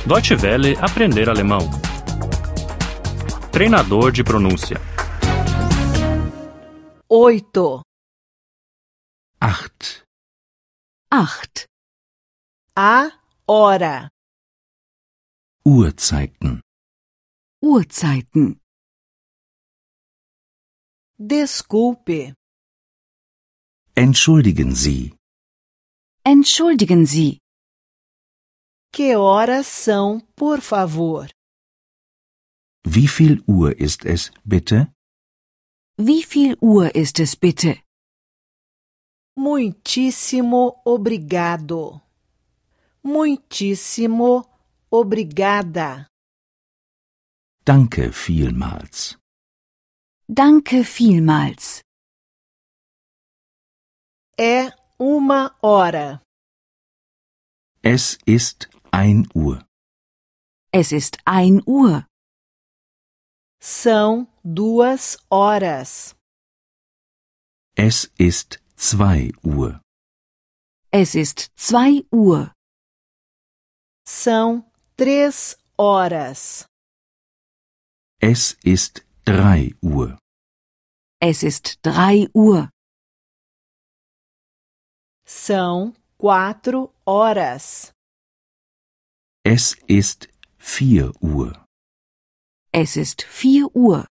Deutsche Welle aprender alemão. Treinador de pronúncia. 8. Acht. A hora. Uhrzeiten. Desculpe. Entschuldigen Sie. Que horas são, por favor? Wie viel Uhr ist es, bitte? Wie viel Uhr ist es bitte? Muitíssimo obrigado. Muitíssimo obrigada. Danke vielmals. Danke vielmals. É 1 hora. Es ist 1 Uhr. Es ist 1 Uhr. São 2 horas. Es ist 2 Uhr. Es ist 2 Uhr. São 3 horas. Es ist 3 Uhr. Es ist 3 Uhr. São 4 horas. Es ist 4 Uhr. Es ist 4 Uhr.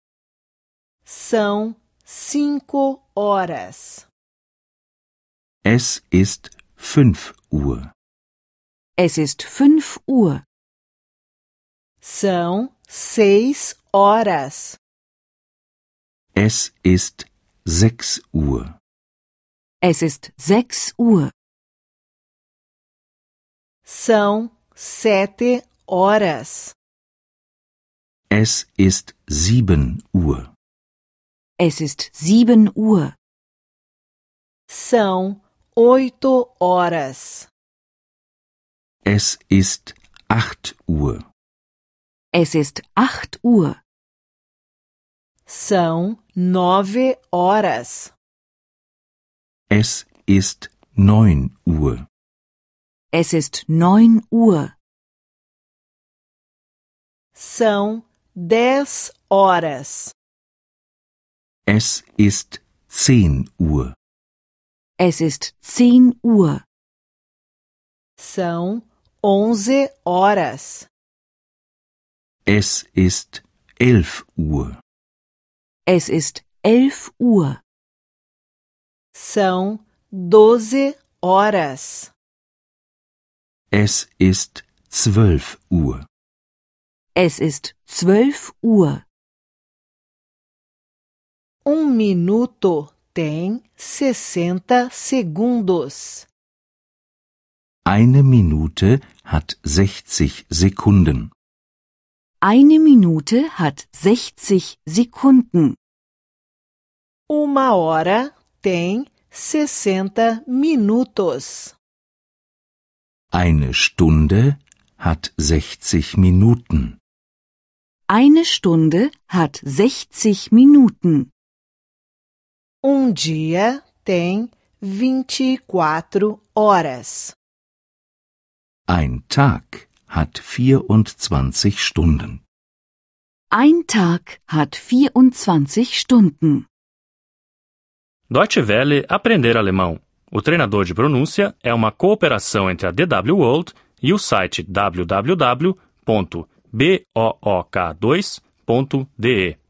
São 5 horas. Es ist 5 Uhr. Es ist 5 Uhr. São 6 horas. Es ist 6 Uhr. Es ist 6 Uhr. São 7 horas. Es ist 7 Uhr. Es ist 7 Uhr. São 8 horas. Es ist 8 Uhr. Es ist 8 Uhr. São 9 horas. Es ist 9 Uhr. Es ist 9 Uhr. São 10 horas. Es ist 10 Uhr. Es ist 10 Uhr. São 11 horas. Es ist 11 Uhr. Es ist 11 Uhr. São 12 horas. Es ist 12 Uhr. Es ist 12 Uhr. 1 minuto tem 60 segundos. Eine Minute hat 60 Sekunden. Eine Minute hat 60 Sekunden. 1 hora tem 60 minutos. Eine Stunde hat 60 Minuten. Eine Stunde hat 60 Minuten. Dia tem 24 horas. Ein Tag hat 24 Stunden. Ein Tag hat 24 Stunden. Deutsche Welle aprender alemão. O treinador de pronúncia é uma cooperação entre a DW World e o site www.book2.de.